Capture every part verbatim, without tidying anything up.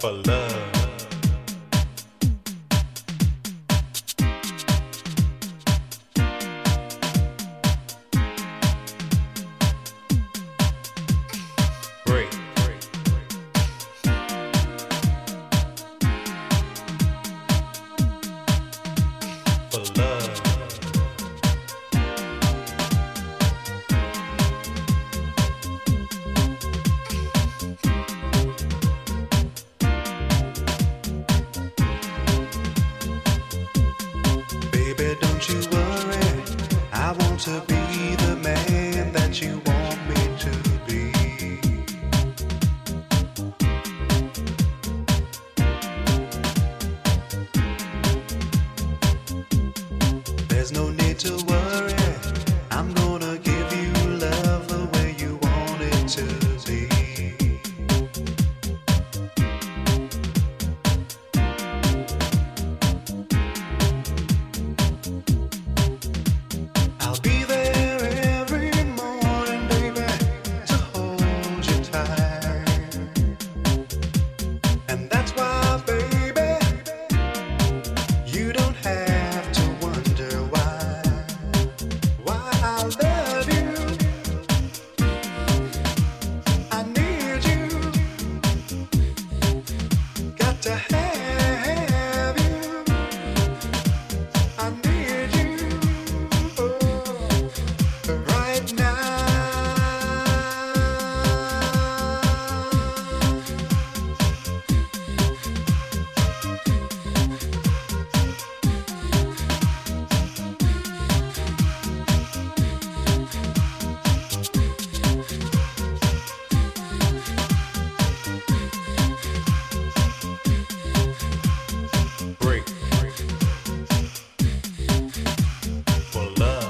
for love. Break. For love. Baby, don't you worry. I want to be the man that you want me to be. There's no need to worry. I'm gonna give you love the way you want it to be. I'll be there every morning, baby, to hold you tight. And that's why, baby, you don't have to wonder why, why I love you. I need you, got to have you. I need you, oh, right now. Break. For love.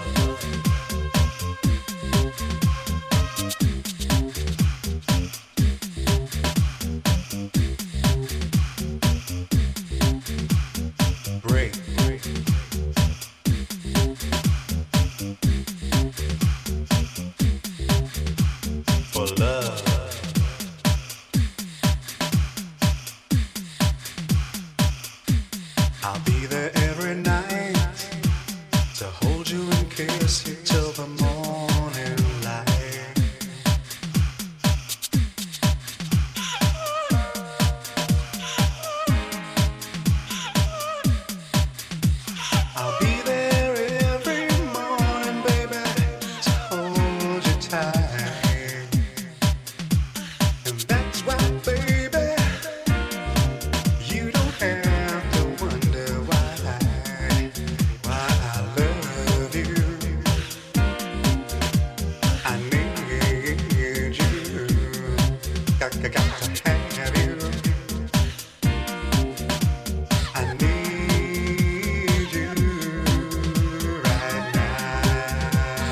Break. For love. I'll be there every night to hold you and kiss you till the morning light. I'll be there every morning, baby, to hold you tight. And that's why, baby, you don't have to wonder why, why I love you. I need you, got, got, got to have you. I need you right now.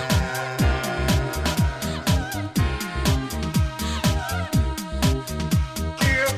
Yeah.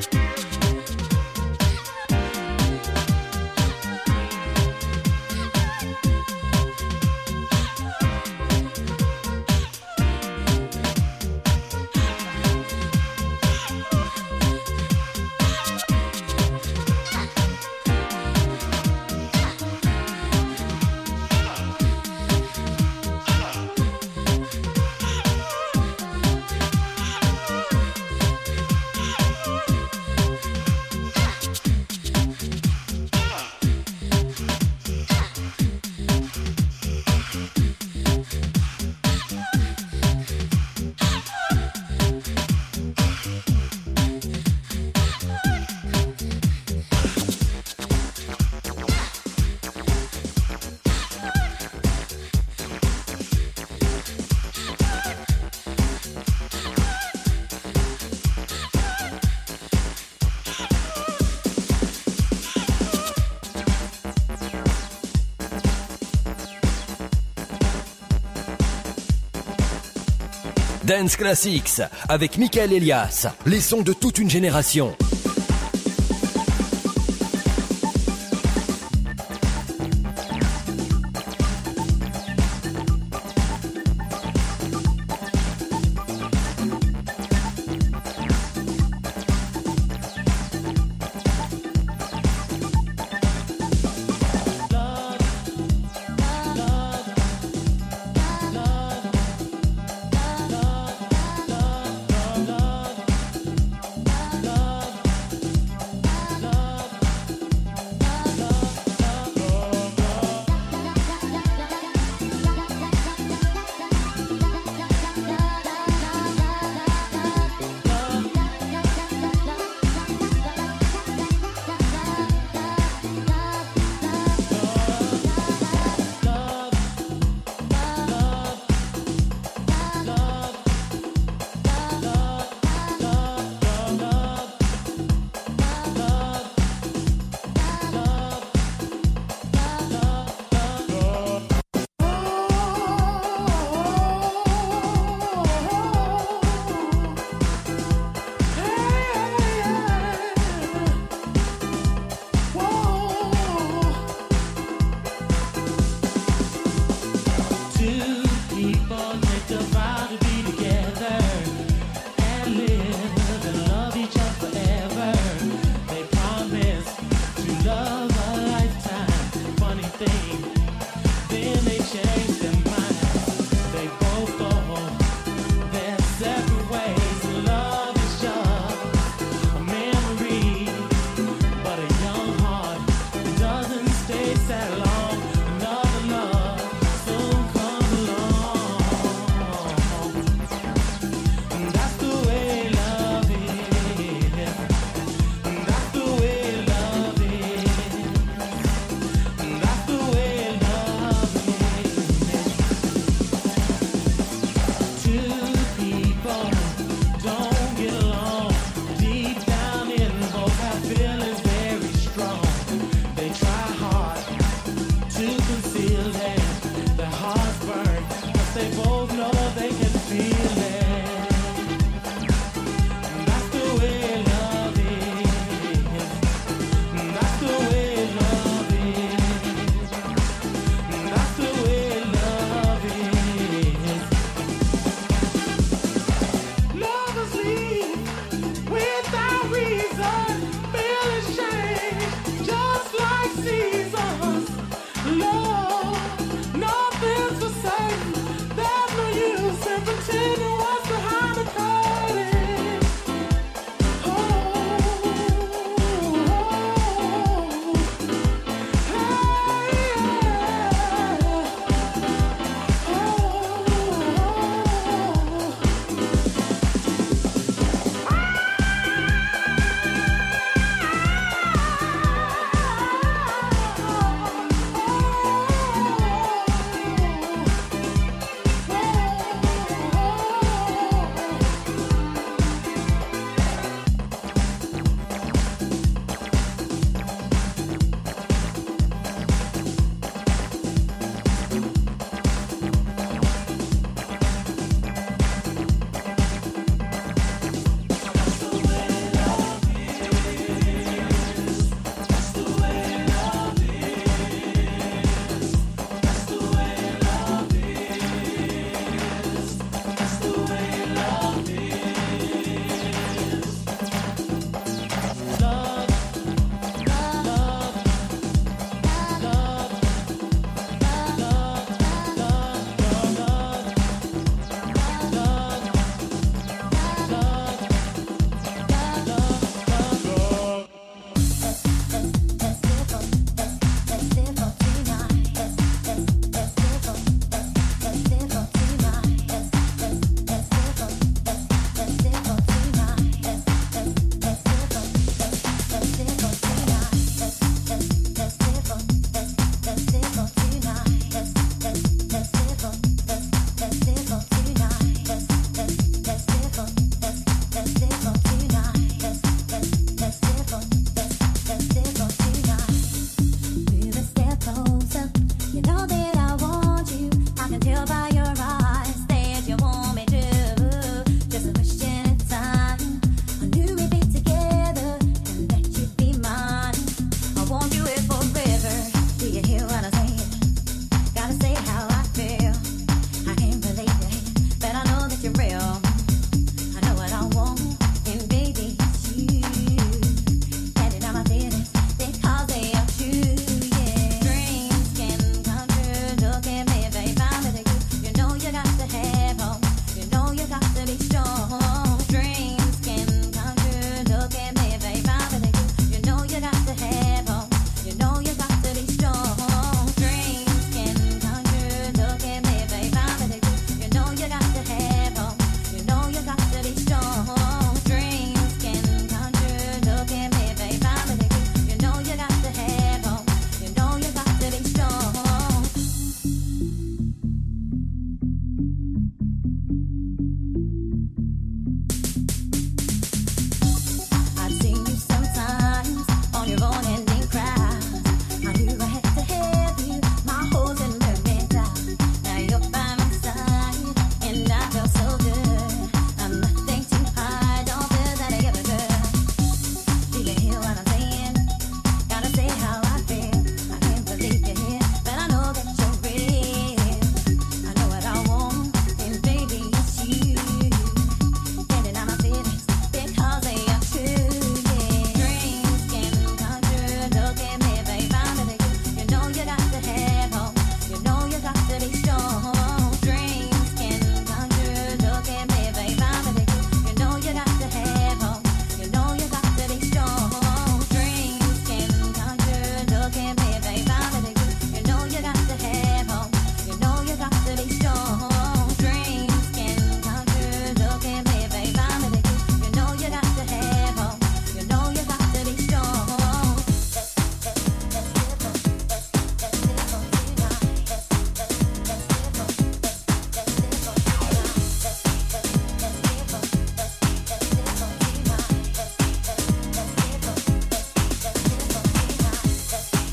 Dance Classics avec Michael Elias, les sons de toute une génération.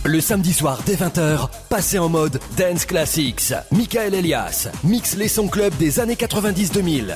Le samedi soir dès vingt heures, passez en mode Dance Classics. Michael Elias mixe les sons club des années quatre-vingt-dix deux mille.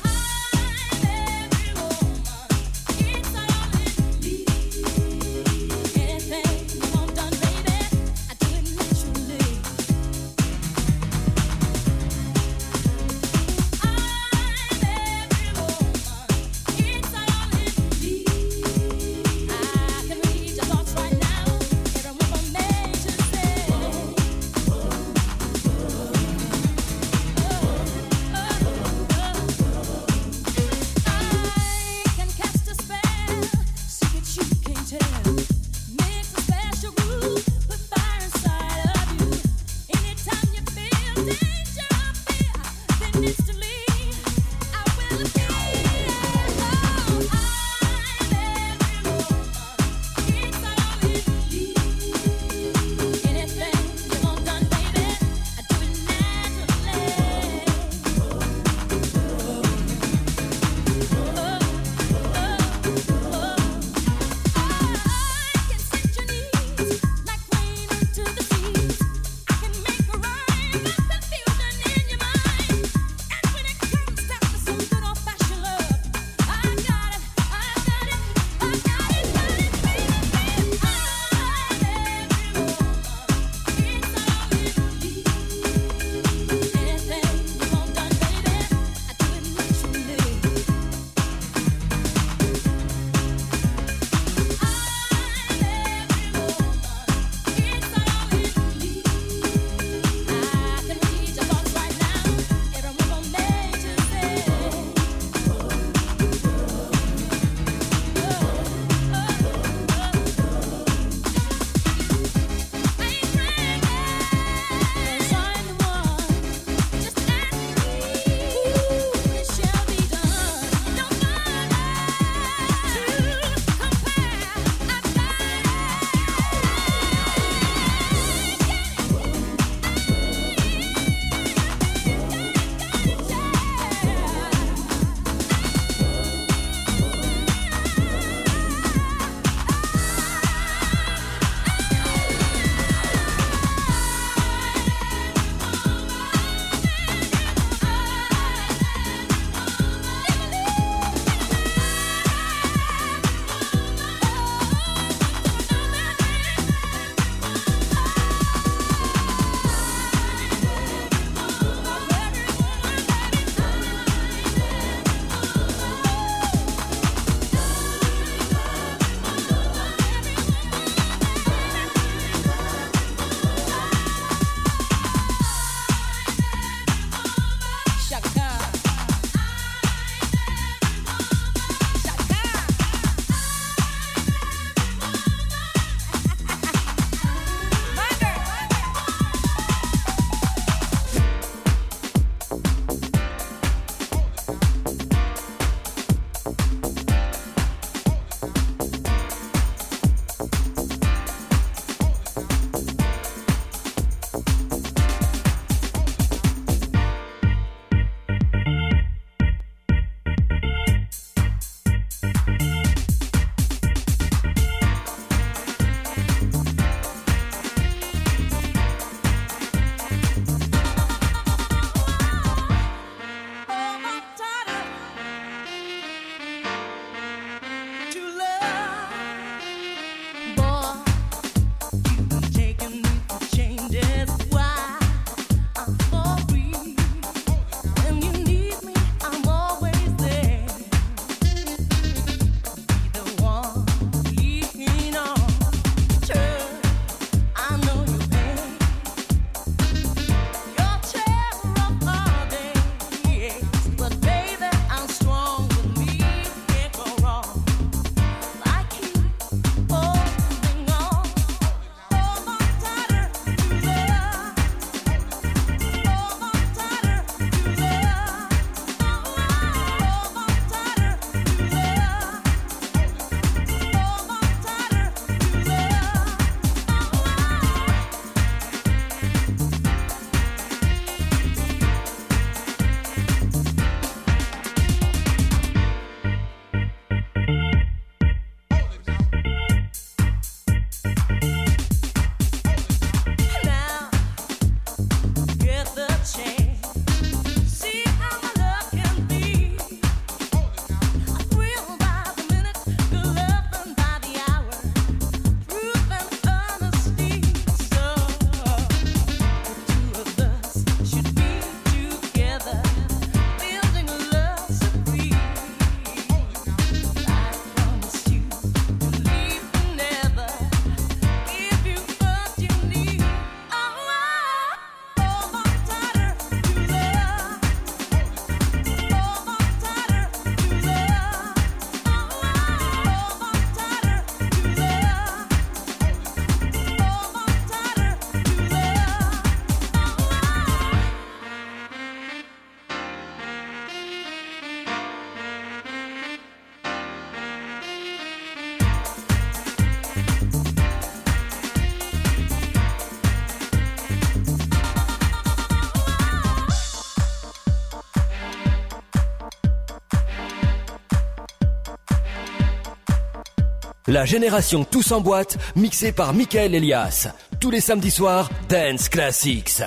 La génération Tous en boîte, mixée par Michael Elias. Tous les samedis soirs, Dance Classics.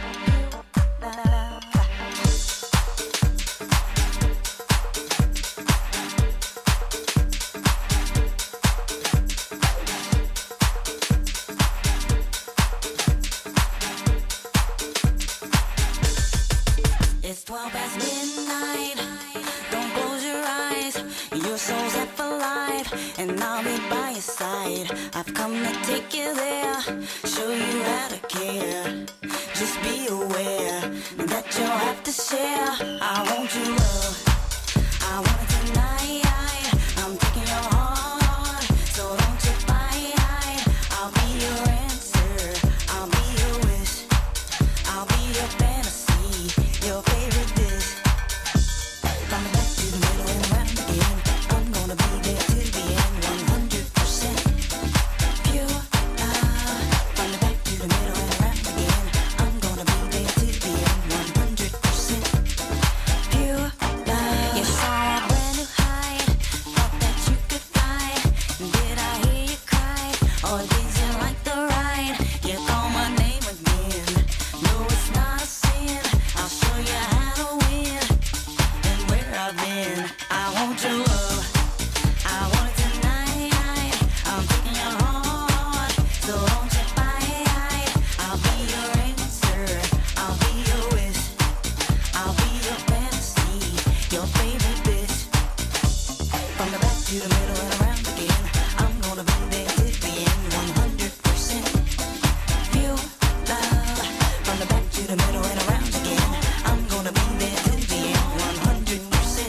It's twelve past midnight. Don't close your eyes. Your soul's set for life, and I'll be by your side. I've come to take you there, show you how to care. Just be aware that you'll have to share. I want your love. I want it tonight. I'm taking your heart, so don't you fight. I'll be your answer. I'll be your wish. I'll be your fantasy, your favorite dish. From the back to the middle and around again, I'm gonna be there till the end. one hundred percent pure love. From the back to the middle and around again, I'm gonna be there till the end. one hundred percent pure love. You saw a brand new height, thought that you could fly. Did I hear you cry, or did you like the ride? You call my name again. No, it's not a sin. I'll show you how to win and where I've been. I want your love. I want it tonight. I'm taking your heart, so don't you fight. I'll be your answer. I'll be your wish. I'll be your fantasy, your favorite bitch. From the back to the middle and around again, I'm gonna be there till the end. one hundred percent pure love. From the back to the middle and around again, I'm gonna be there till the end. one hundred percent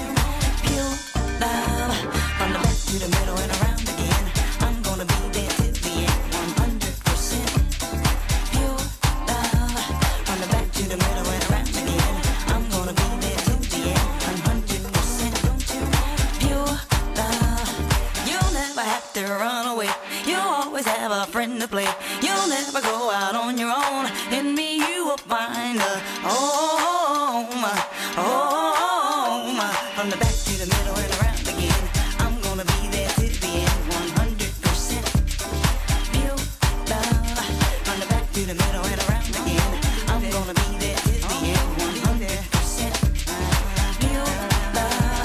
pure love. From the back to the middle and around again, I'm gonna be there till the end. one hundred percent pure love. From the back to the middle and around again, I'm gonna be there till the end. one hundred percent pure love. You'll never have to run away. You'll always have a friend to play. You'll never go out on your own. In me you will find a home, home. From the back to the middle and around again, I'm gonna be there till the end. one hundred percent pure love. From the back to the middle and around again, I'm gonna be there till the end. one hundred percent pure love.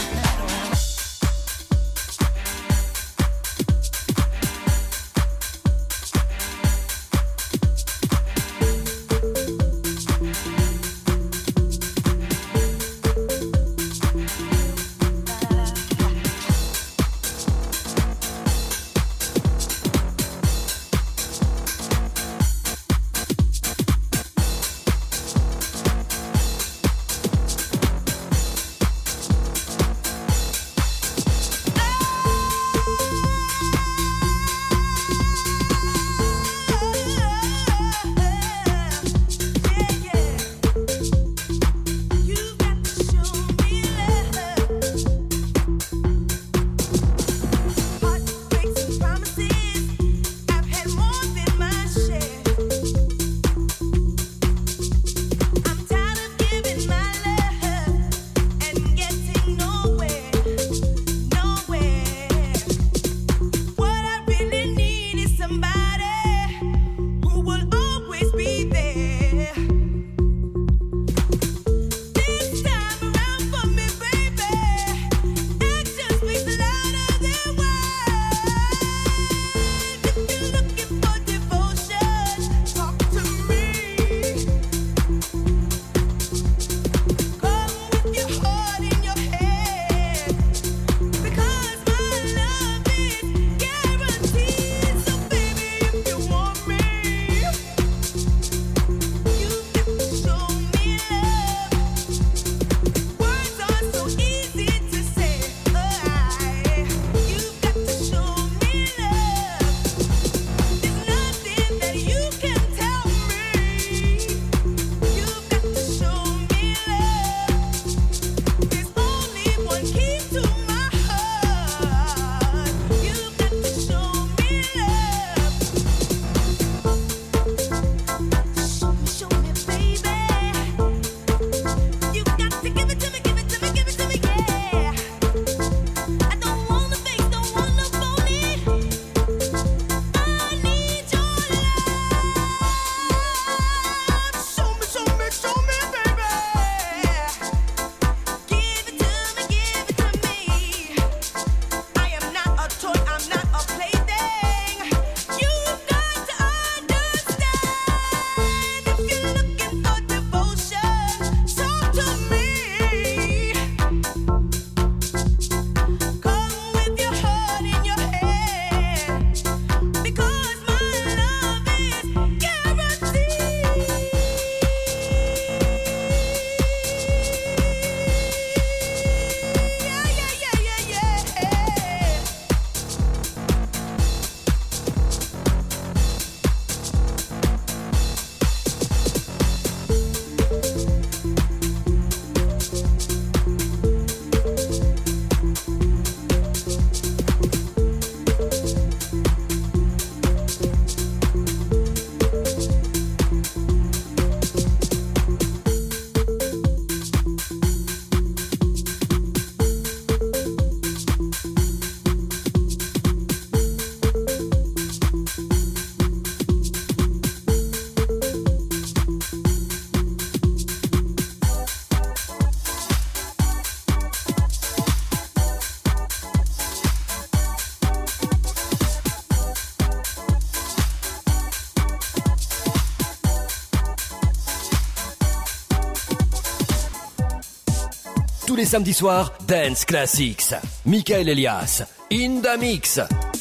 Tous les samedis soirs, Dance Classics. Michael Elias, in the mix.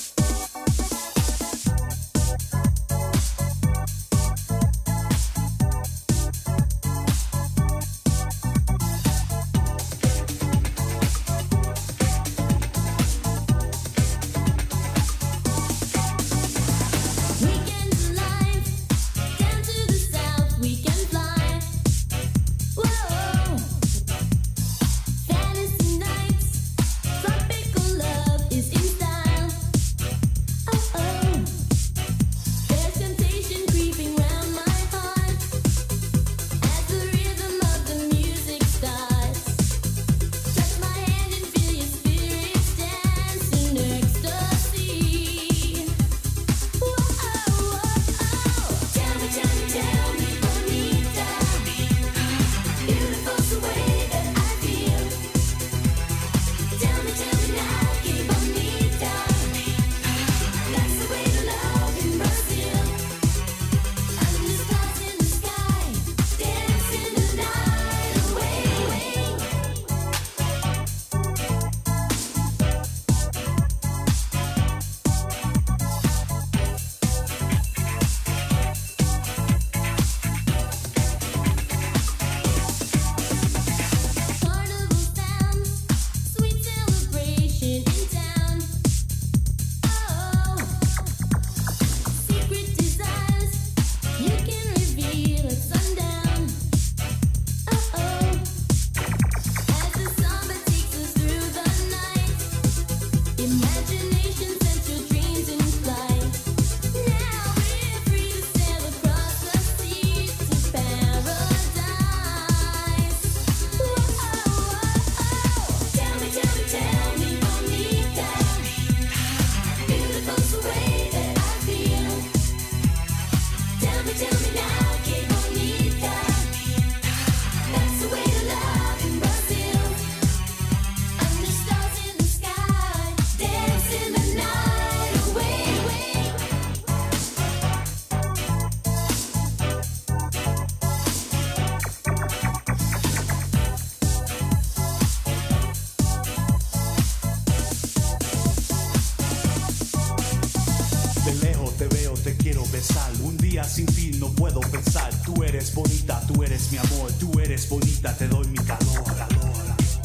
Un día sin ti no puedo pensar. Tú eres bonita, tú eres mi amor. Tú eres bonita, te doy mi calor, calor.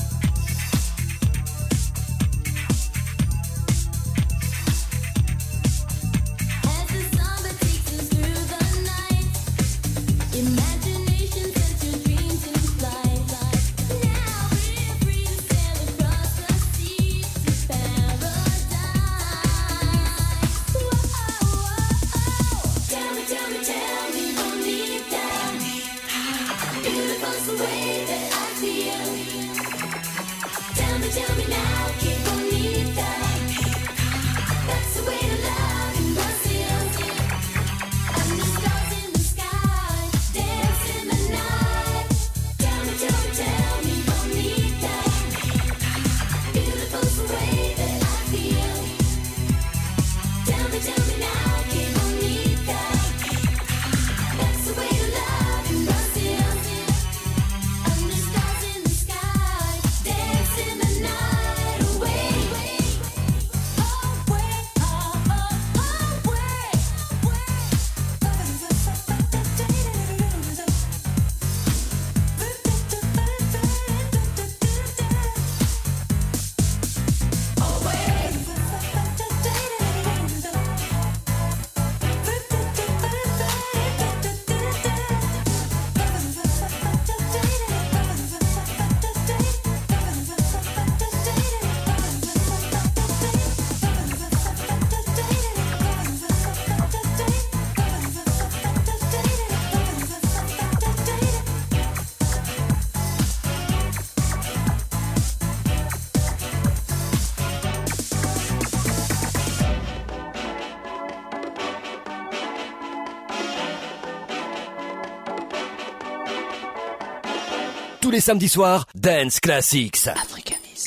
Tous les samedis soirs, Dance Classics. Africanis.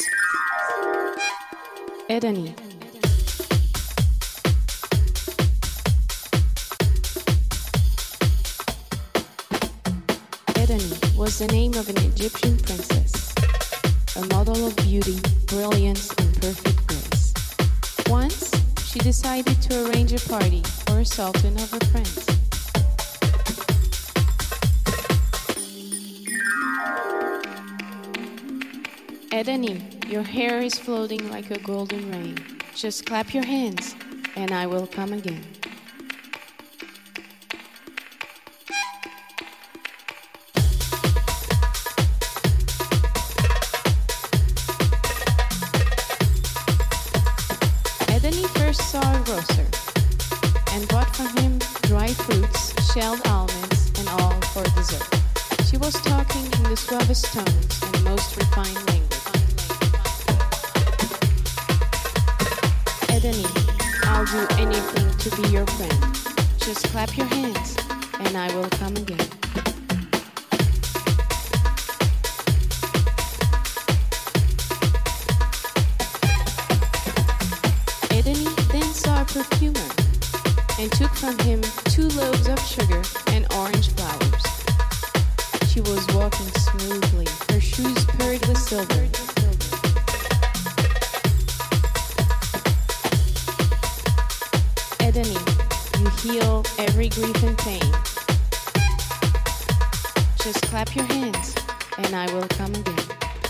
Edeni. Edeni was the name of an Egyptian princess. a model of beauty, brilliance, and perfect grace. Once, she decided to arrange a party for a sultan of her friends. Edeni, your hair is floating like a golden rain. Just clap your hands, and I will come again. Edeni first saw a grocer and bought from him dry fruits, shelled almonds, and all for dessert. She was talking in the suavest tones and most refined language. Edeni, I'll do anything to be your friend. Just clap your hands, and I will come again. Edeni then saw a perfumer and took from him two loaves of sugar and orange flowers. She was walking smoothly, her shoes purred with silver. Edeni, you heal every grief and pain. Just clap your hands, and I will come again.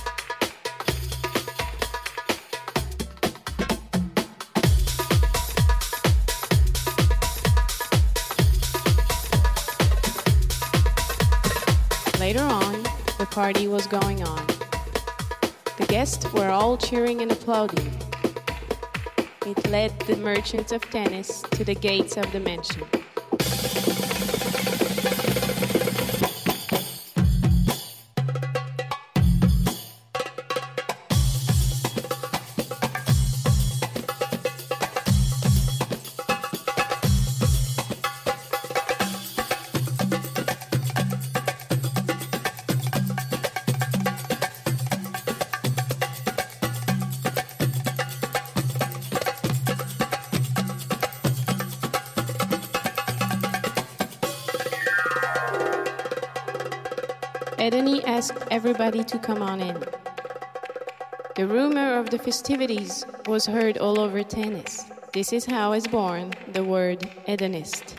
Later on, the party was going on. The guests were all cheering and applauding. It led the merchant of tennis to the gates of the mansion. Edeni asked everybody to come on in. The rumor of the festivities was heard all over tennis. This is how is born the word Edenist.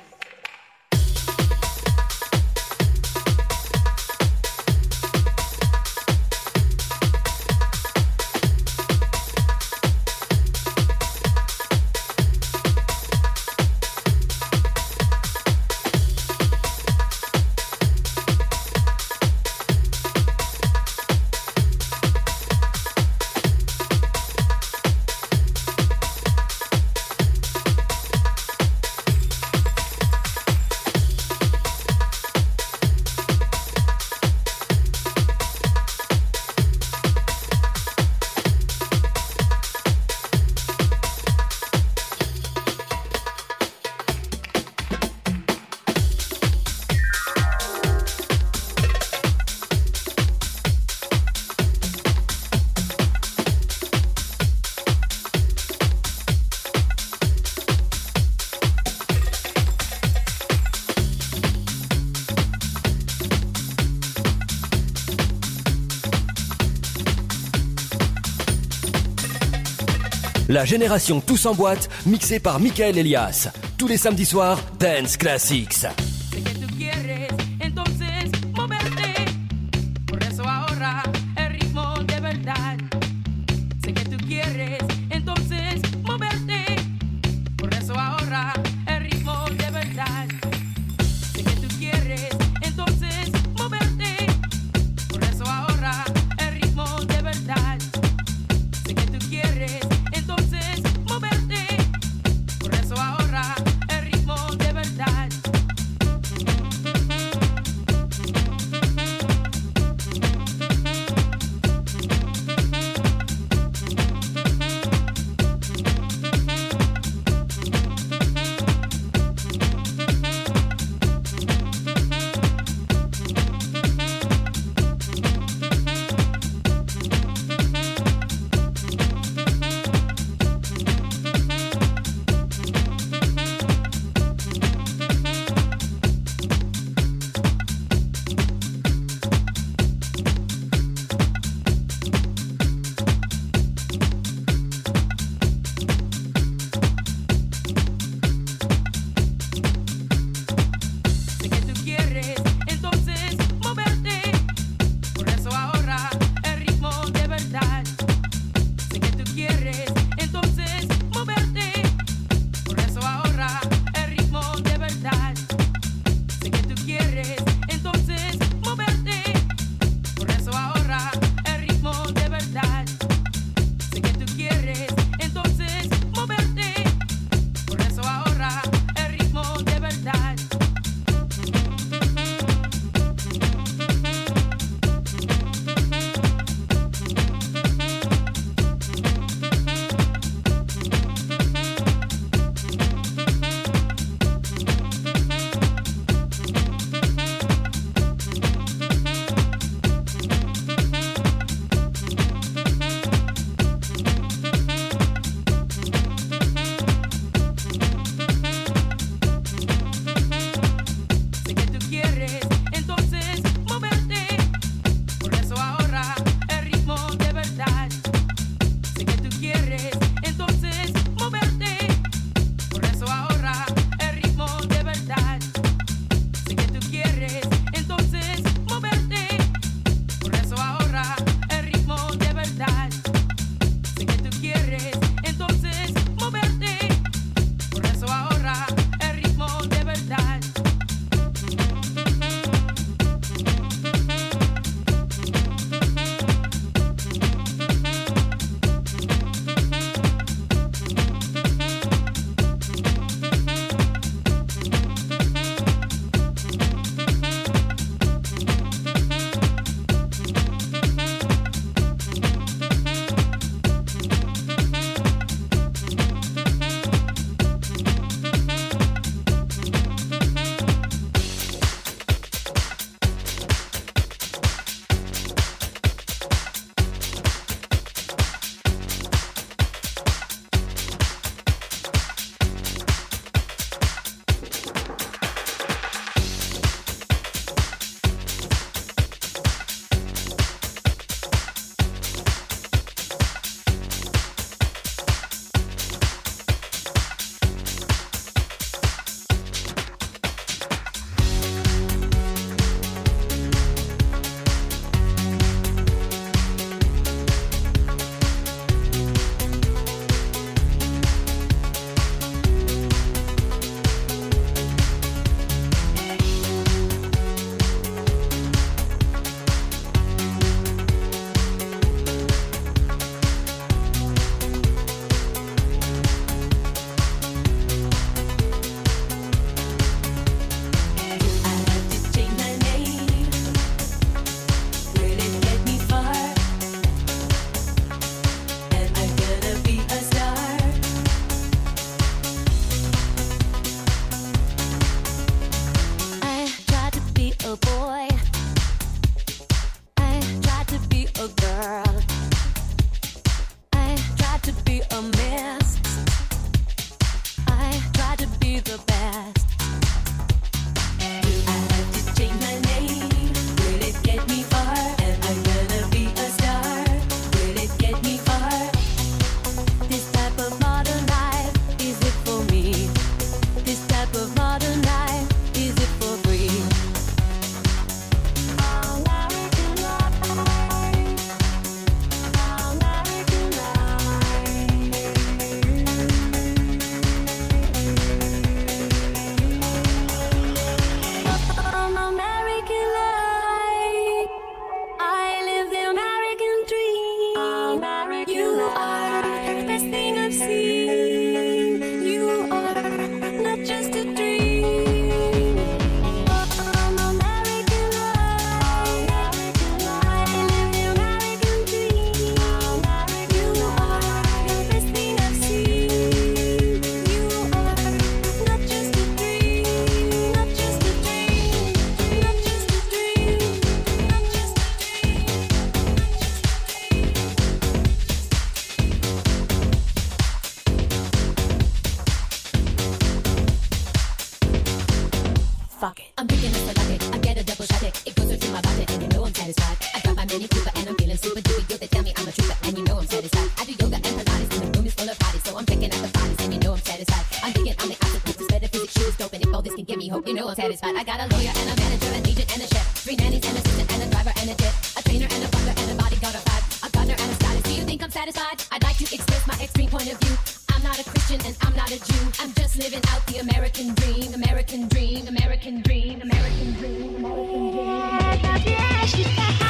La génération Tous en boîte, mixée par Michael Elias. Tous les samedis soirs, Dance Classics. Entonces, moverte, por eso ahorra el ritmo de verdad. I do yoga and Pilates and the room is full of bodies. So I'm picking at the bodies and you know I'm satisfied. I'm digging on the opposite with metaphysics, shoes, dope, and if all this can give me hope, you know I'm satisfied. I got a lawyer and a manager, an agent and a chef, three nannies and an assistant and a driver and a jet, a trainer and a butler and a bodyguard of five, a gardener and a stylist. Do you think I'm satisfied? I'd like to express my extreme point of view. I'm not a Christian and I'm not a Jew. I'm just living out the American dream, American dream, American dream, American dream, American dream. Yeah, she's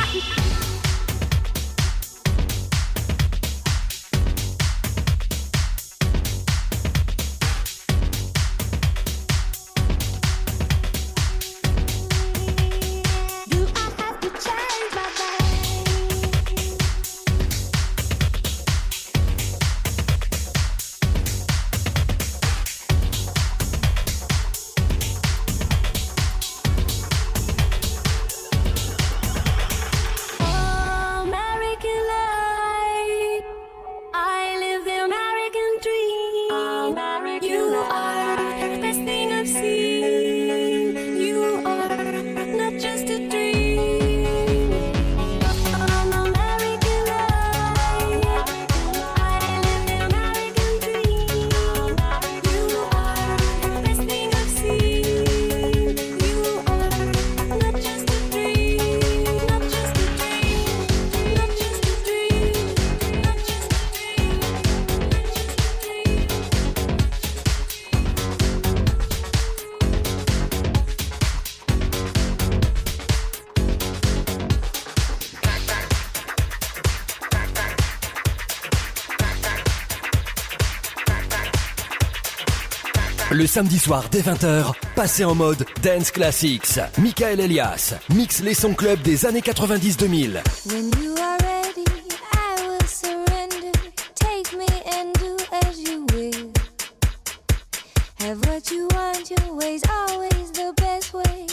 Le samedi soir dès vingt heures, passez en mode Dance Classics. Michael Elias mixe les sons club des années quatre-vingt-dix deux mille. When you are ready, I will surrender. Take me and do as you will. Have what you want, your way's always the best way.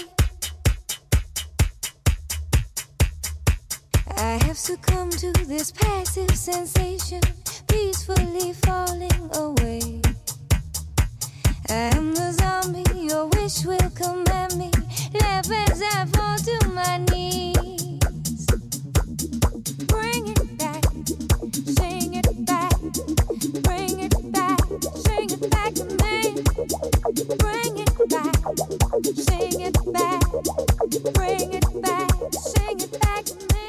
I have succumbed to this passive sensation, peacefully falling away. I am the zombie, your wish will command me. Laugh as I fall to my knees. Bring it back, sing it back. Bring it back, sing it back to me. Bring it back, sing it back. Bring it back, sing it back to me.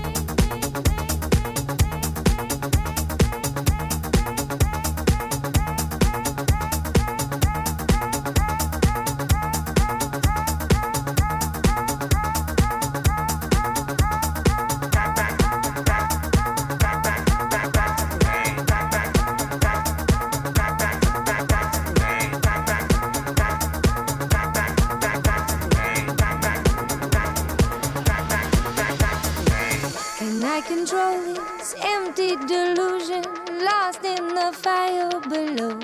Control this empty delusion, lost in the fire below.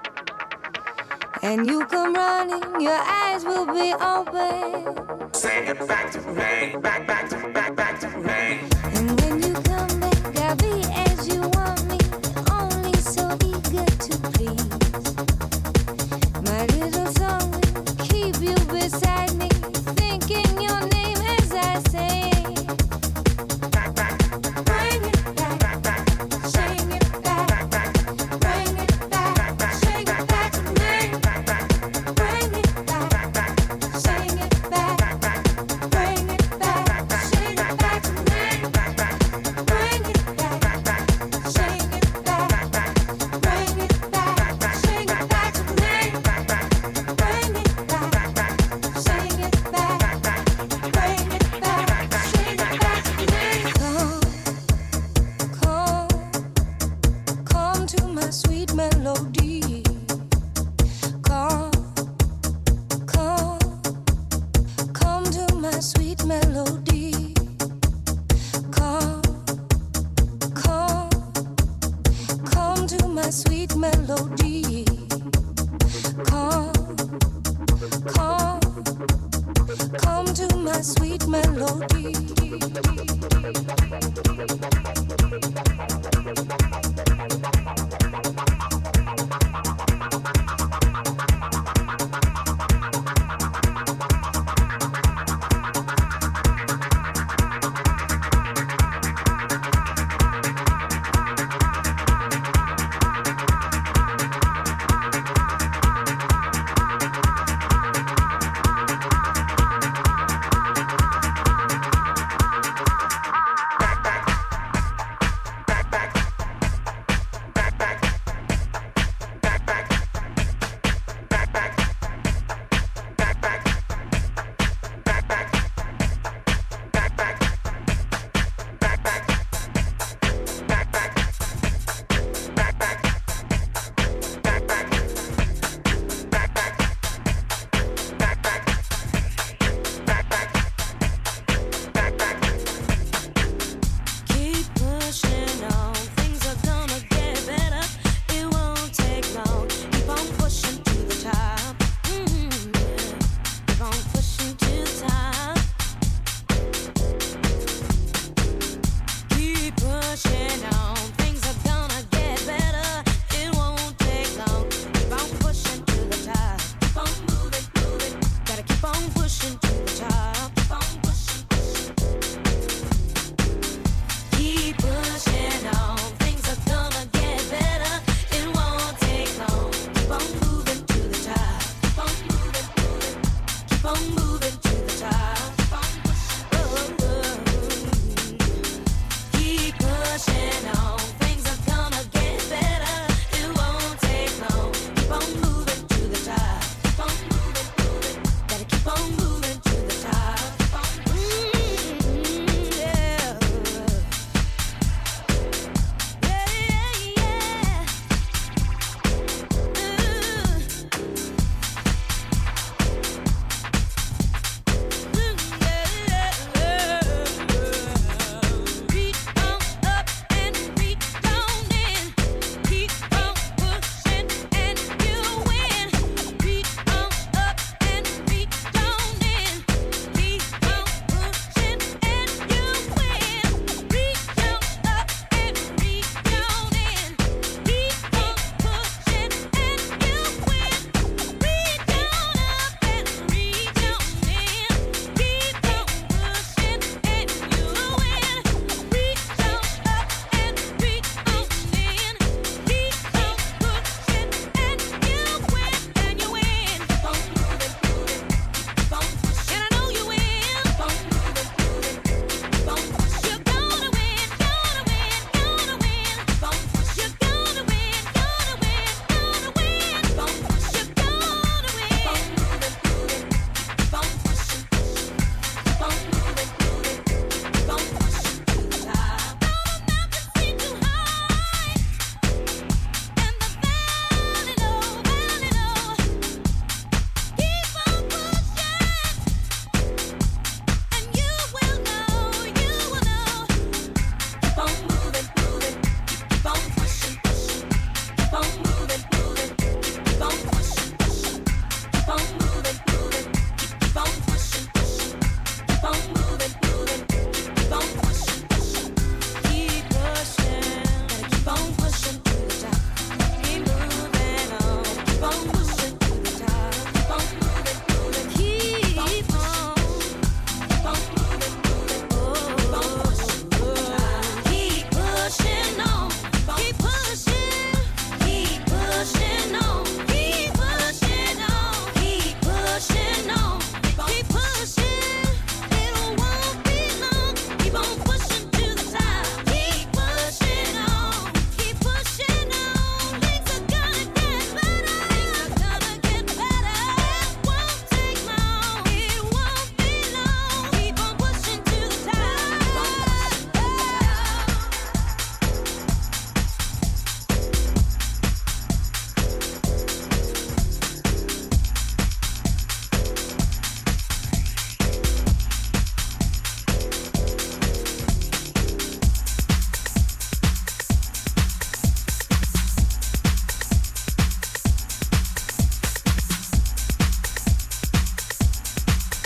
And you come running, your eyes will be open. Sing it back to me, back, back to, back, back to me. And when you come back, I'll be as you want me, only so eager to please. My little song will keep you beside me, thinking your name as I sing.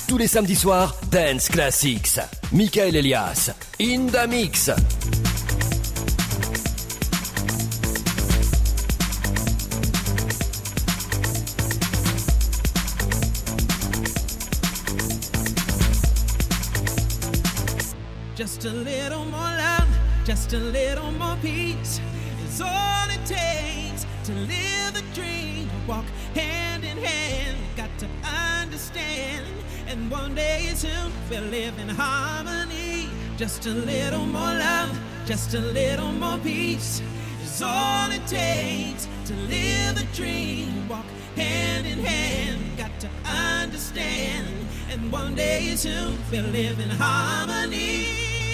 Tous les samedis soirs, Dance Classics. Michael Elias, in the mix. Just a little more love, just a little more peace is all it takes to live the dream. Walk hand in hand, got to understand. And one day soon we'll live in harmony. Just a little more love, just a little more peace is all it takes to live the dream. Walk hand in hand, got to understand. And one day soon we'll live in harmony.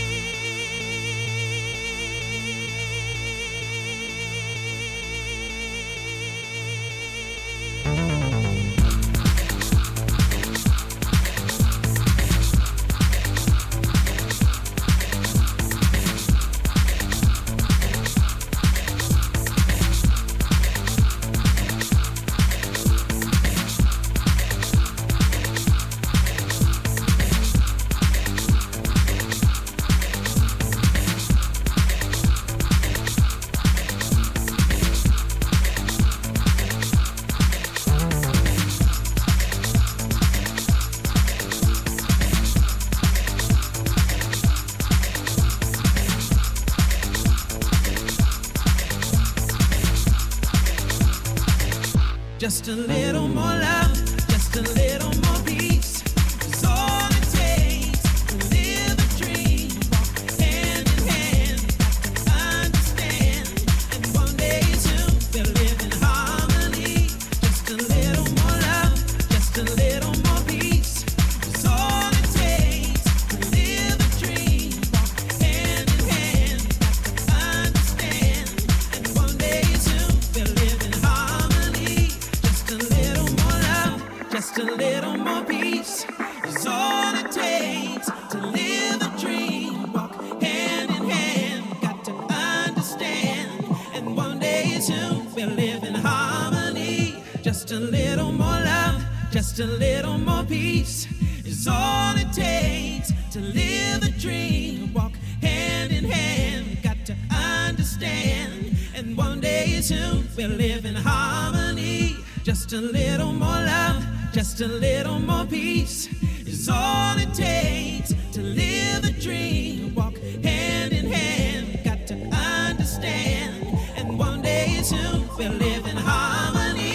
Just a little more love, just a little more peace is all it takes to live a dream. Walk hand in hand, got to understand. And one day soon we'll live in harmony. Just a little more love, just a little more peace is all it takes to live a dream. Walk hand in hand, got to understand. And one day soon we'll live in harmony. Just a little more love, just a little more peace is all it takes to live a dream. Walk hand in hand, got to understand. And one day soon we'll live in harmony. Just a little more love, just a little more peace is all it takes to live a dream. Walk hand in hand, got to understand. And one day soon we'll live in harmony. Just a little more love, just a little more peace is all it takes to live a dream. Walk hand in hand, got to understand. And one day soon we'll live in harmony.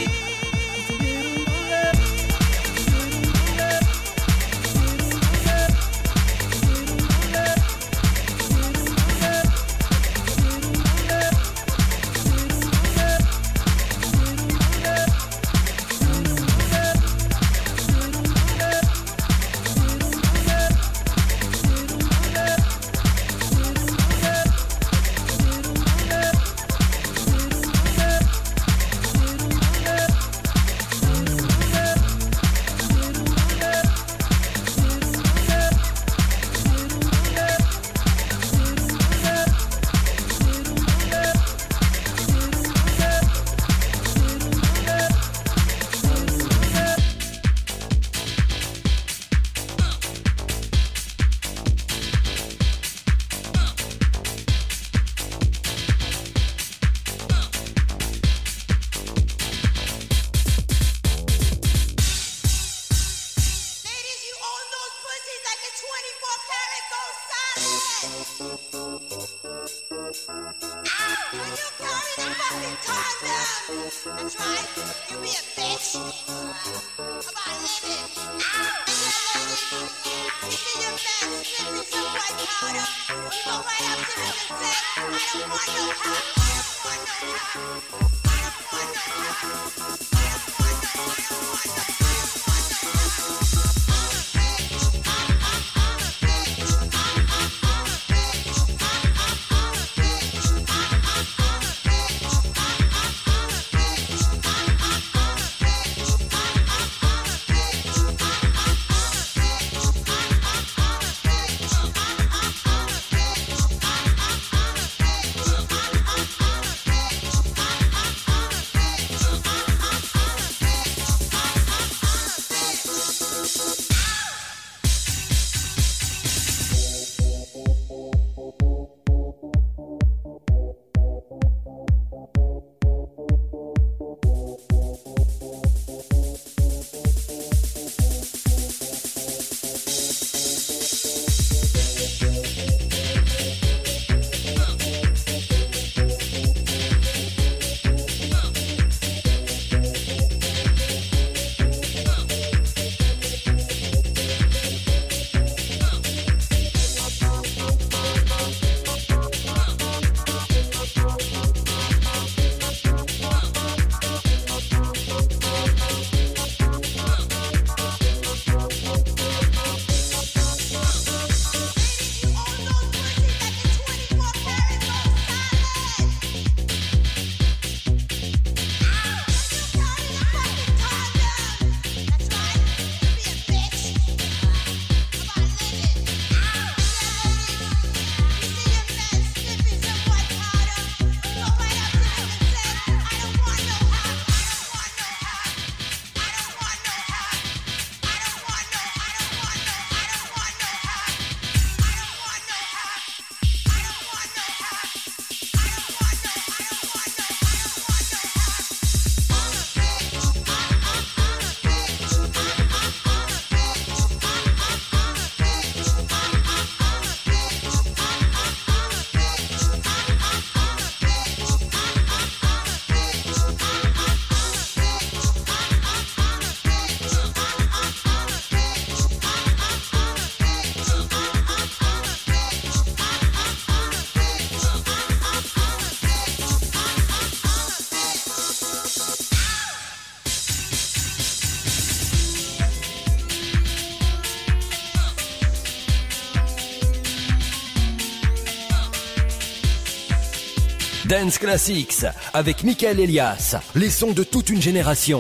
Dance Classics avec Michael Elias, les sons de toute une génération.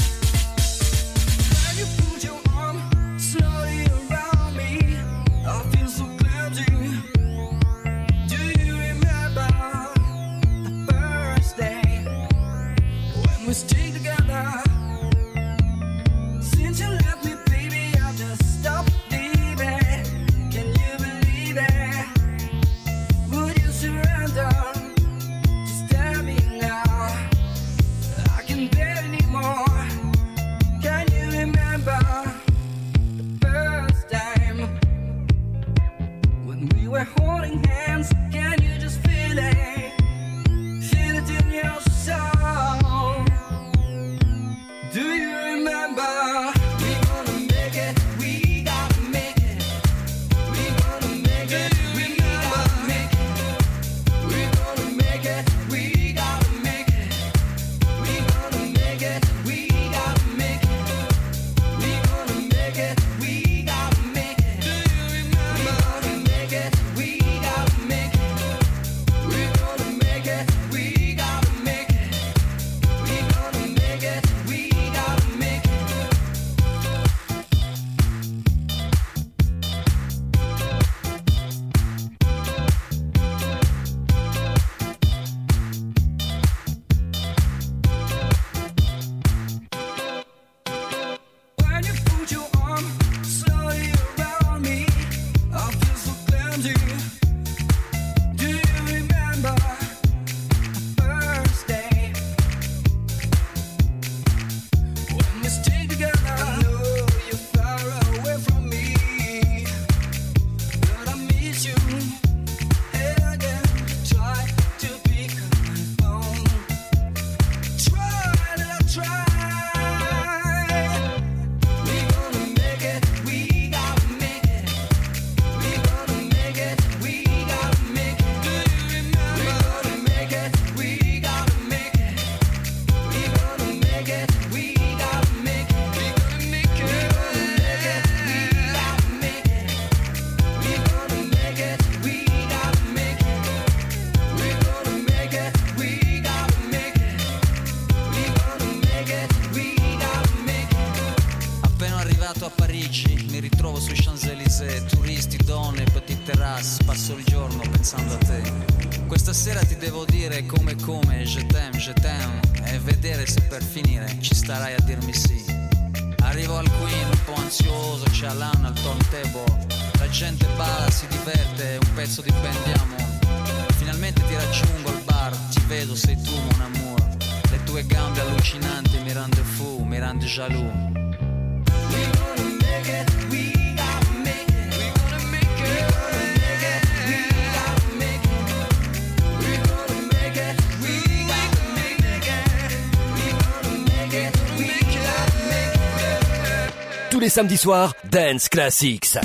Tous les samedis soirs, Dance Classics.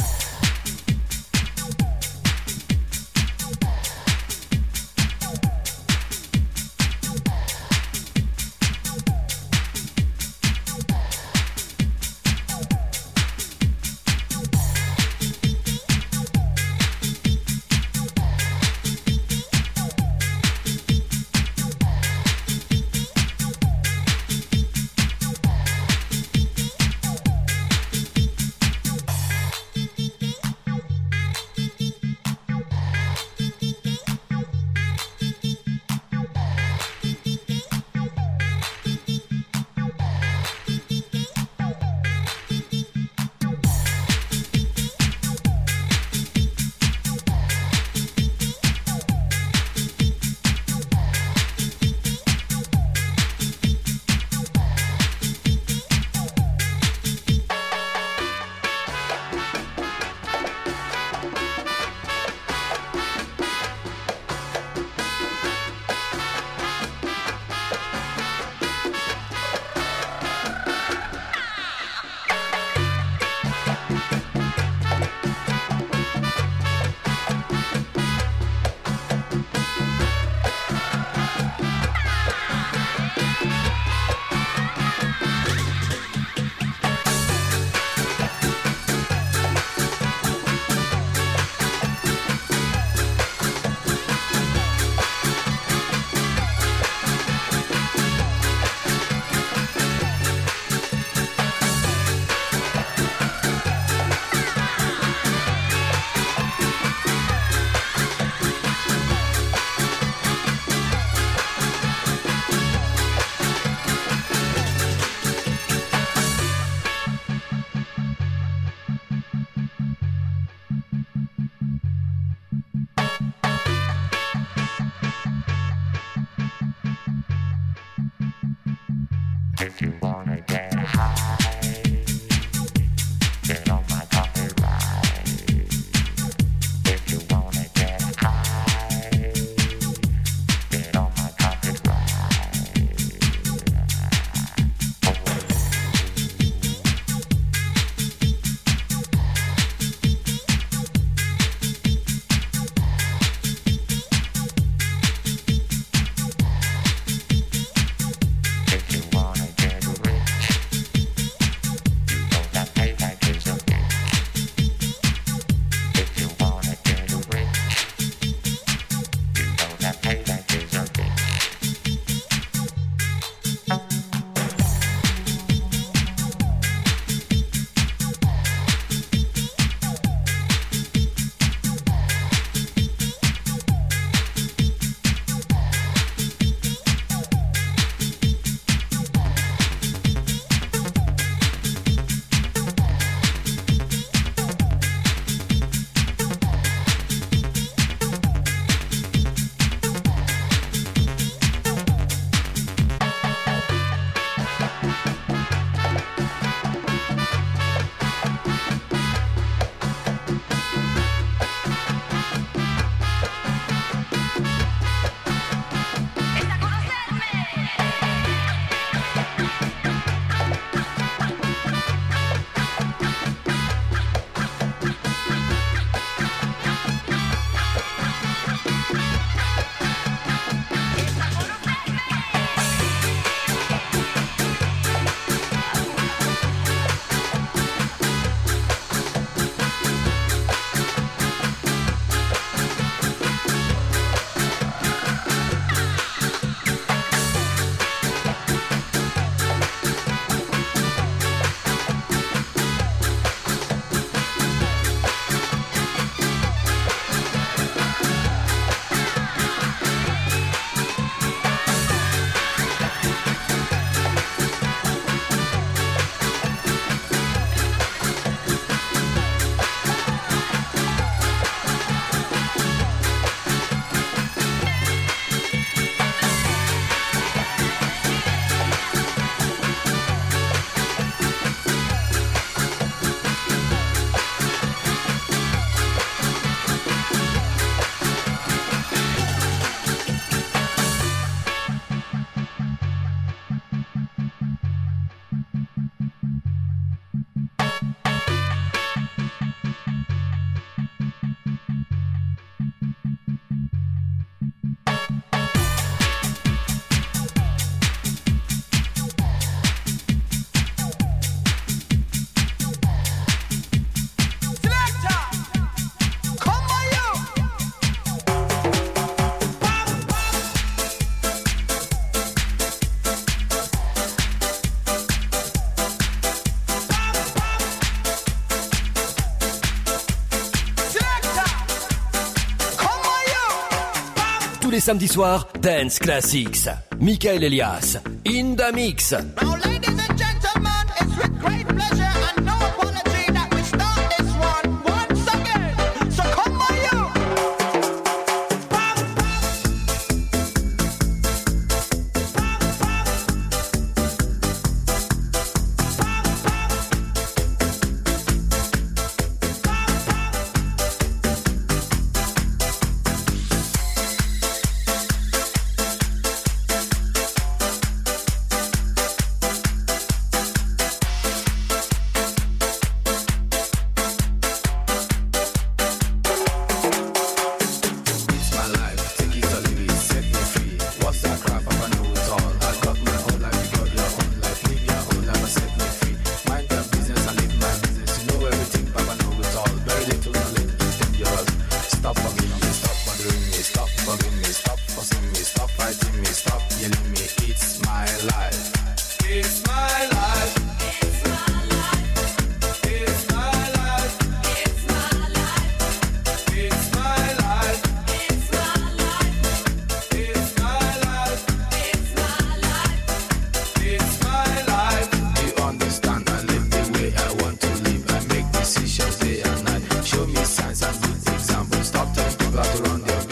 Tous les samedis soirs, Dance Classics. Michael Elias, in the mix. Now, ladies and gentlemen, it's with great pleasure and no apology that we start this one once again. So come on, you.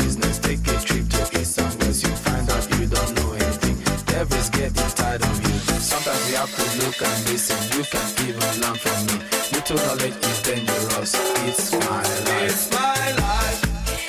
Everybody's getting tired of you. Sometimes you have to look and listen. You can even learn from me. Little knowledge is dangerous. It's my life. It's my life.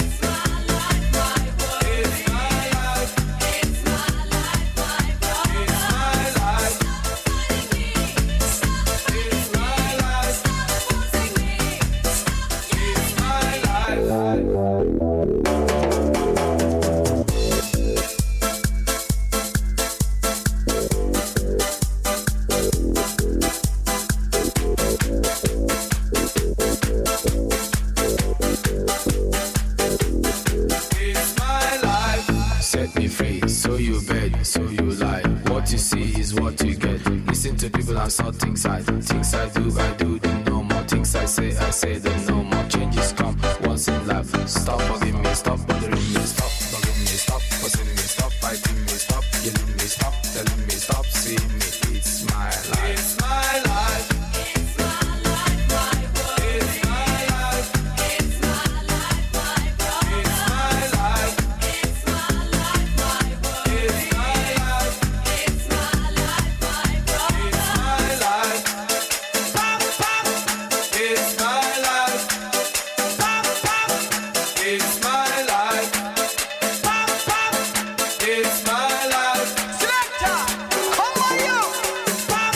Saw things I things I do, I do the no more. Things I say, I say the no more. Changes come once in life. Stop bugging me, stop bothering me, stop bugging me, stop fussing me, stop fighting me, stop killing me, stop telling me, stop seeing me. It's my life. It's my life. It's my life, my world. It's my life. It's my life, my world. It's my life. It's my life, my world. It's my life. It's my life, my world. It's my life. Pop, pop. It's my life. Pop, pop. It's my life. Pop, pop. It's my life. Selector, come on you. Pop,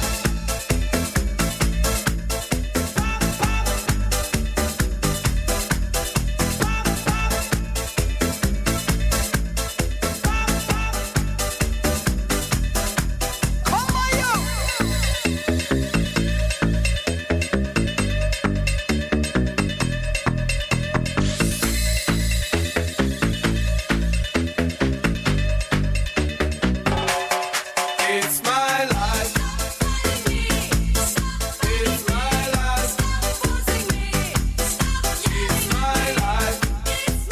come on you. It's my life. It's my life. It's my life. It's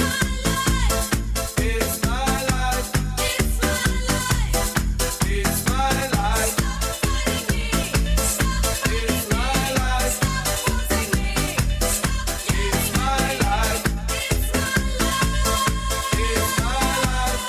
my life. It's my life. It's my life. It's my life. It's my life.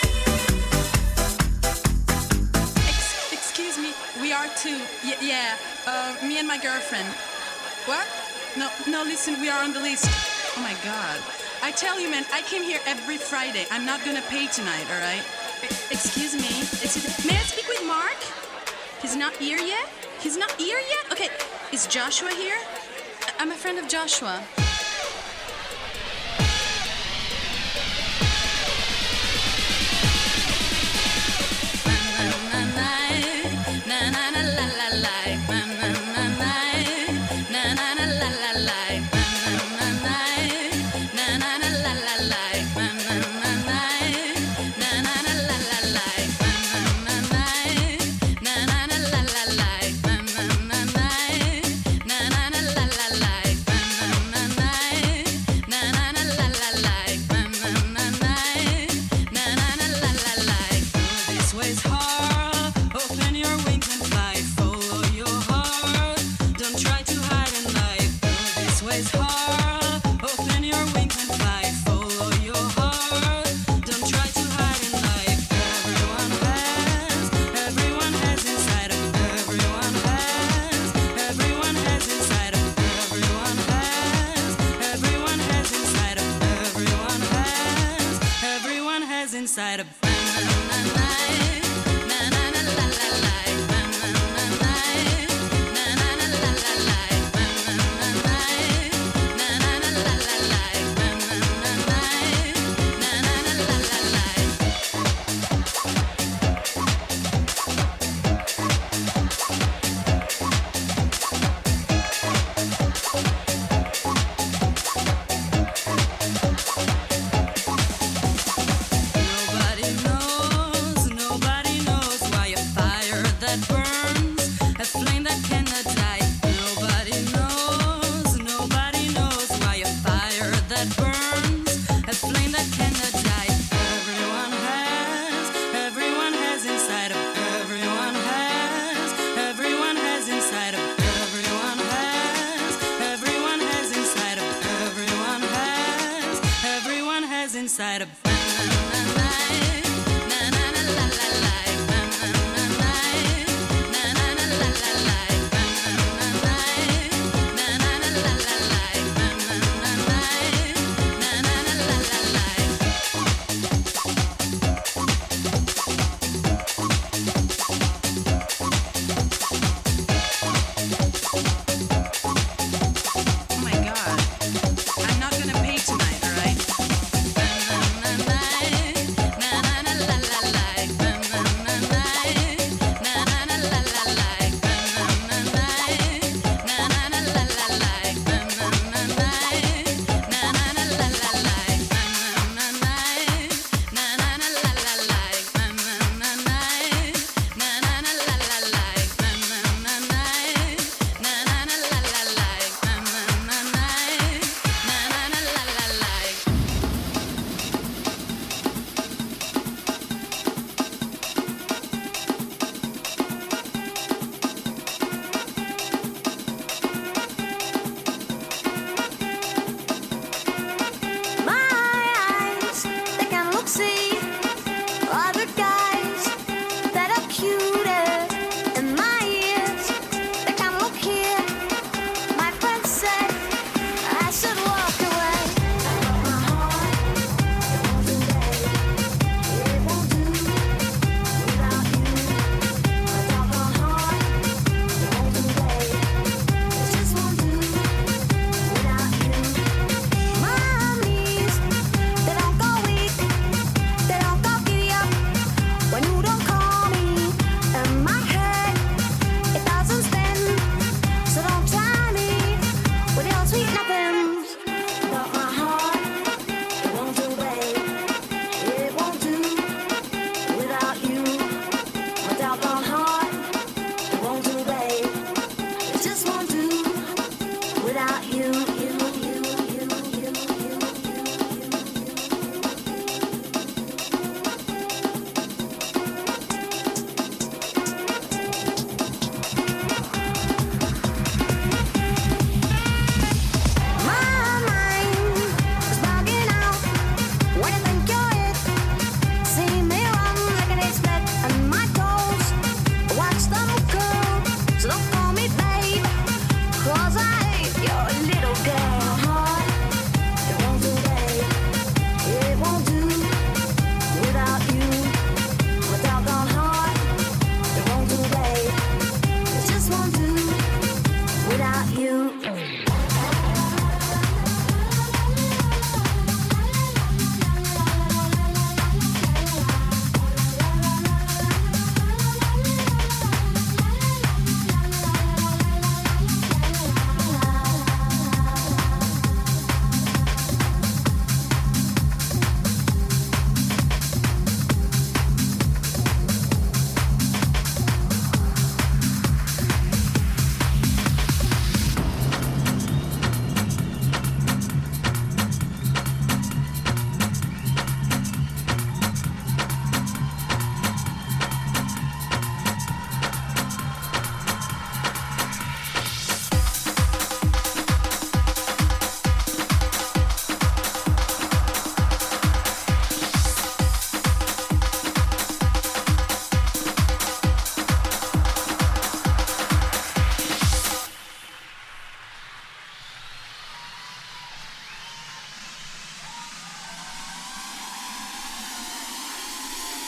Ex- excuse me, we are two. Y- yeah, uh, me and my girlfriend. What? No, no, listen, we are on the list. Oh my god. I tell you, man, I came here every Friday. I'm not gonna pay tonight, alright? E- excuse me. Excuse May I speak with Mark? He's not here yet? He's not here yet? Okay, is Joshua here? I- I'm a friend of Joshua. This way's hard. Open your wings and fly. Follow your heart. Don't try to hide in life. This way's hard. Open your wings and fly. Follow your heart. Don't try to hide in life. Everyone has, everyone has inside of everyone has, everyone has inside of everyone has, everyone has inside of everyone has, everyone has inside of. Nobody knows, nobody knows why a fire that burns, a flame that cannot die. Nobody knows, nobody knows why a fire that burns, a flame that cannot die. Everyone has, everyone has inside of everyone has, everyone has inside of everyone has, everyone has inside of everyone has, everyone has inside of. Na na na la la la, na na na na.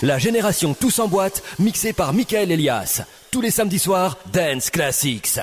La génération Tous en boîte, mixée par Michael Elias. Tous les samedis soirs, Dance Classics.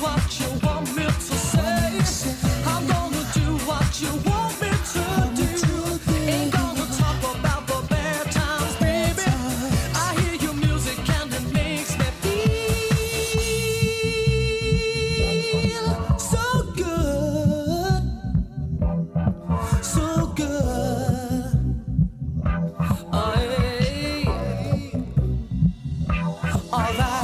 what you want me to say. I'm gonna do what you want me to do. Ain't gonna talk about the bad times, baby. I hear your music and it makes me feel so good, so good. Oh, yeah. All right.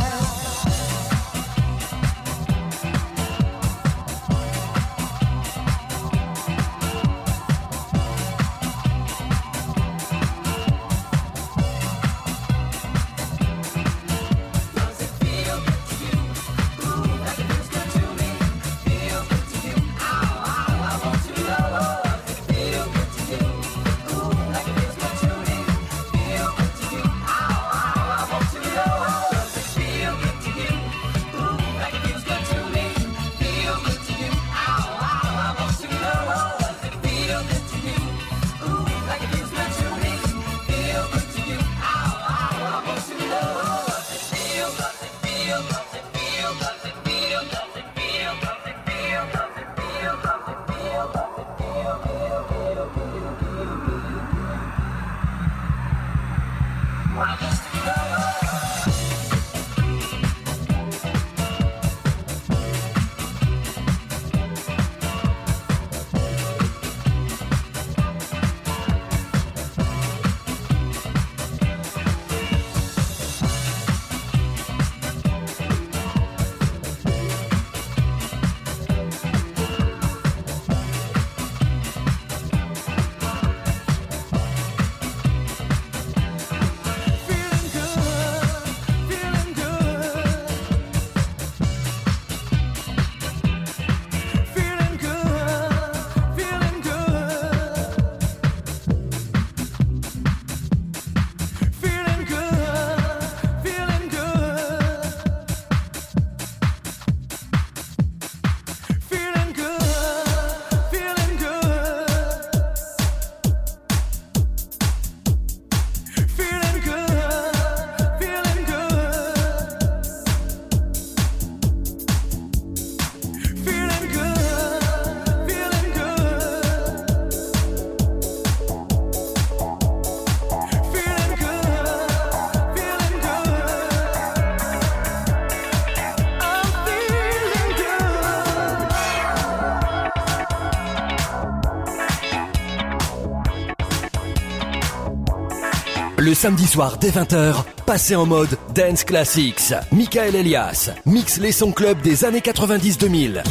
Le samedi soir dès vingt heures, passez en mode Dance Classics. Michael Elias mixe les sons club des années quatre-vingt-dix deux mille.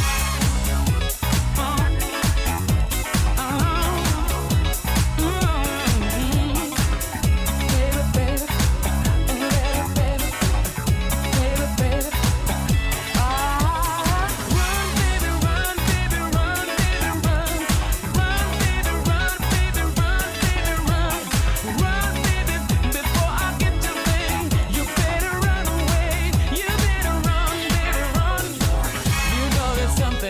Something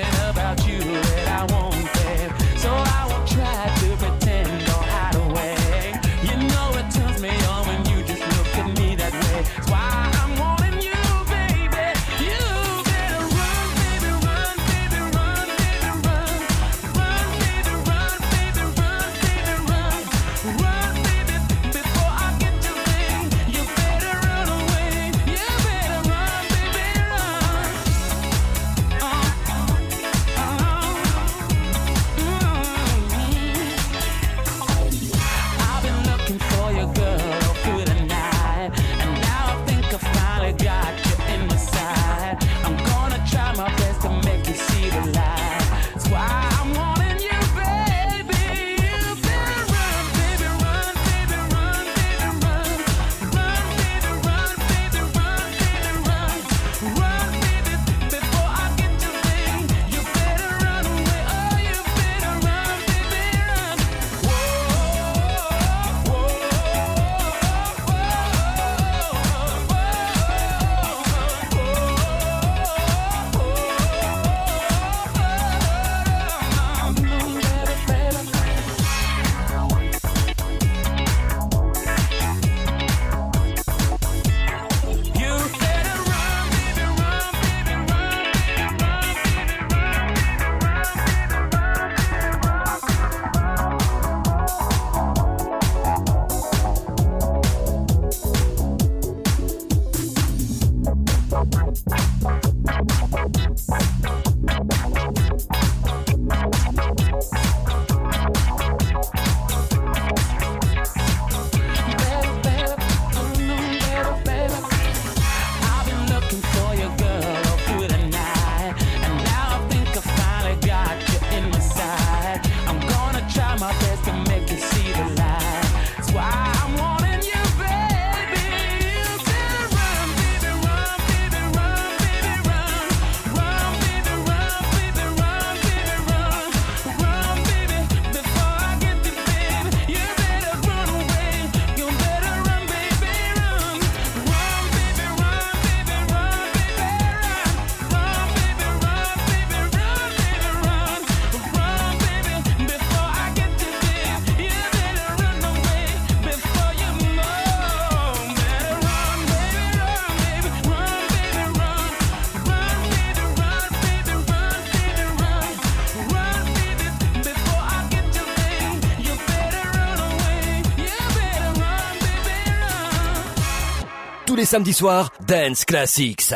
Tous les samedis soirs, Dance Classics.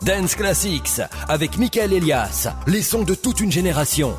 Dance Classics avec Michael Elias, les sons de toute une génération.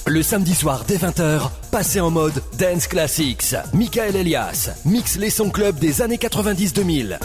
Le samedi soir dès vingt heures, passez en mode Dance Classics. Michael Elias mixe les sons club des années quatre-vingt-dix deux mille.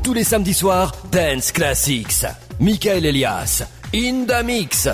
Tous les samedis soirs, Dance Classics. Michael Elias, in the mix.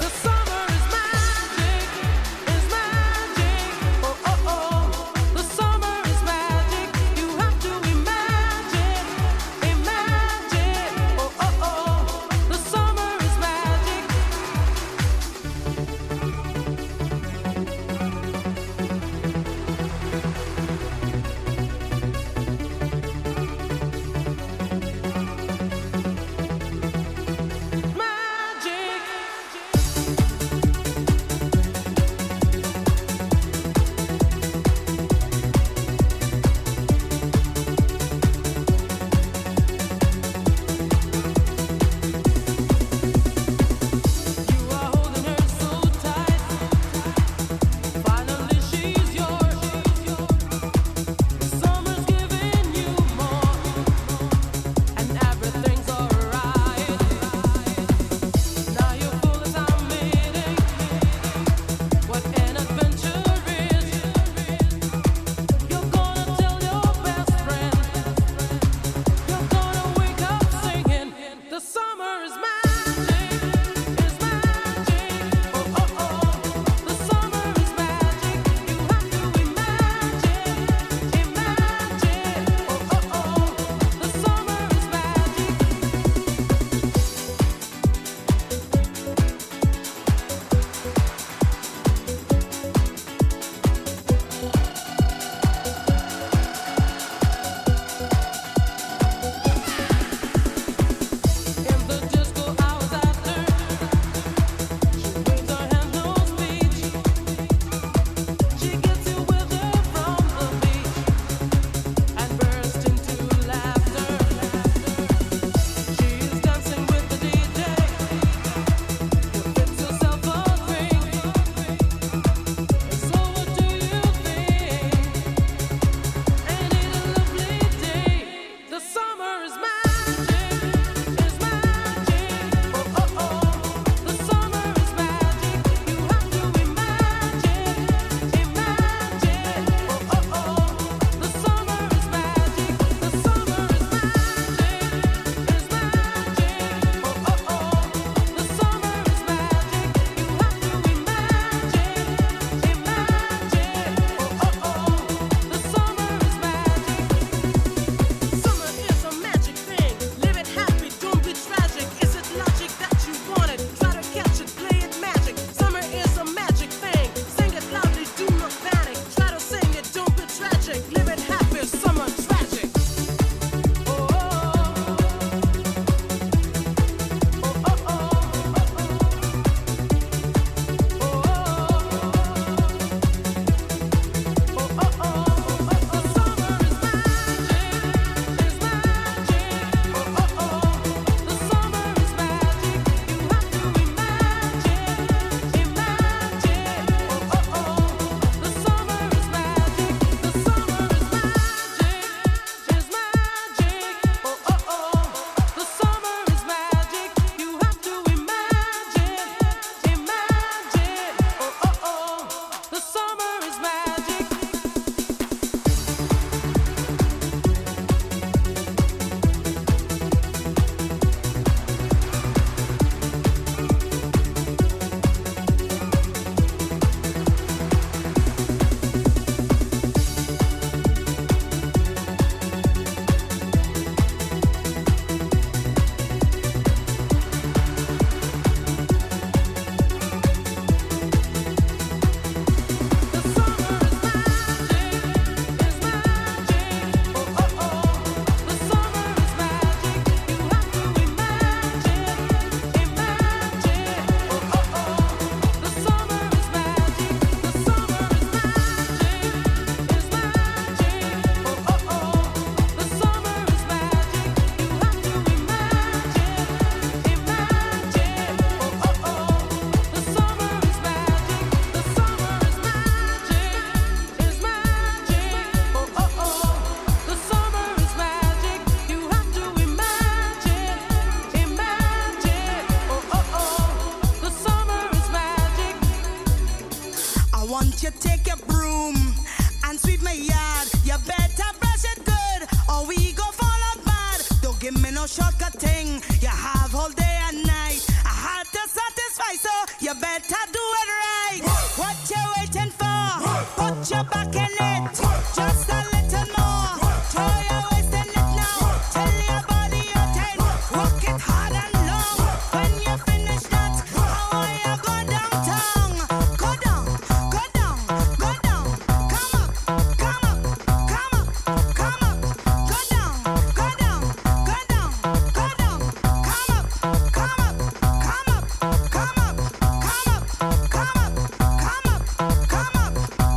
give me no shortcut thing. You have all day and night. I had to satisfy, so you better do it right. What you waiting for? Put your back in it. Just a little more. Throw your waist in it now. Tell your body you're ten. Work it hard and long. When you finish that, how are you go downtown? Go down, go down, go down. Come up, come up, come up, come up. Go down, go down, go down, go down. Come up, come up, come up, come up, come up, come up, come up, come up.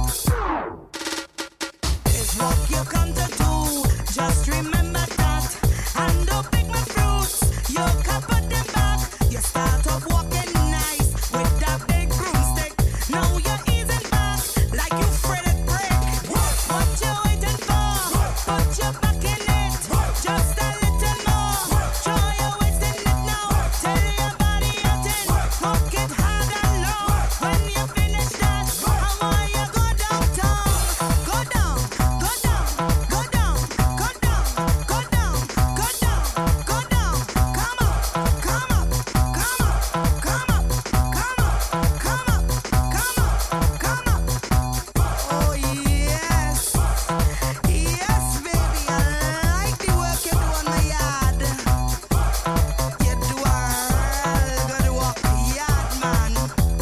It's what you come to do. Just remember that. And don't pick my fruits. You can put them back. You start off walking nice with that big broomstick. Now you're easing back like you fretted brick. What you waiting for? Put your back in it. Just a little more. Throw your waist in it now. Tell your body you're ten. Work it hard and long. When you finish that, how are you go downtown? Go down, go down, go down, go down, go down, go down, go down. Come up, come up, come up, come up, come up, come up, come up, come up. Oh yes, yes, baby, I like the work you do on my yard. You do a real good work, yard man.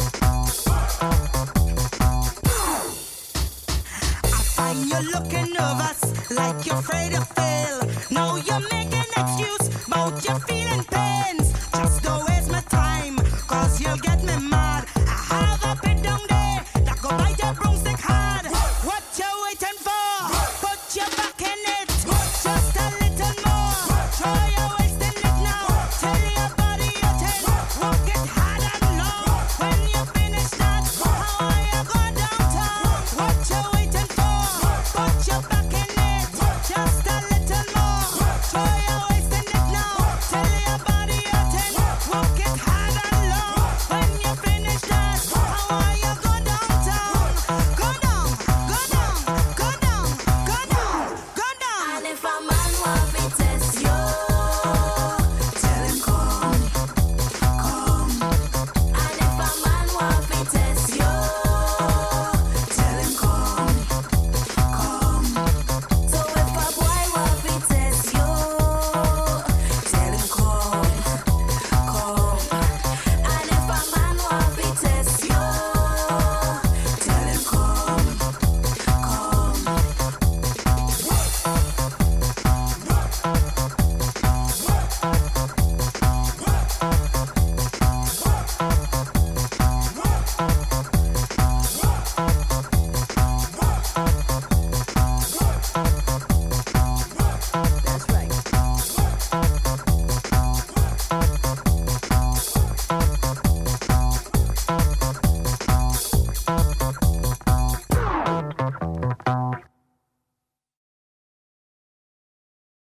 I find you looking nervous, like you're afraid to fail. Now you're making excuse about your feeling